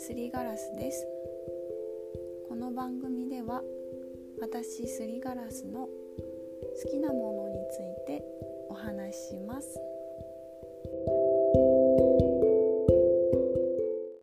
すりガラスです。この番組では私すりガラスの好きなものについてお話しします。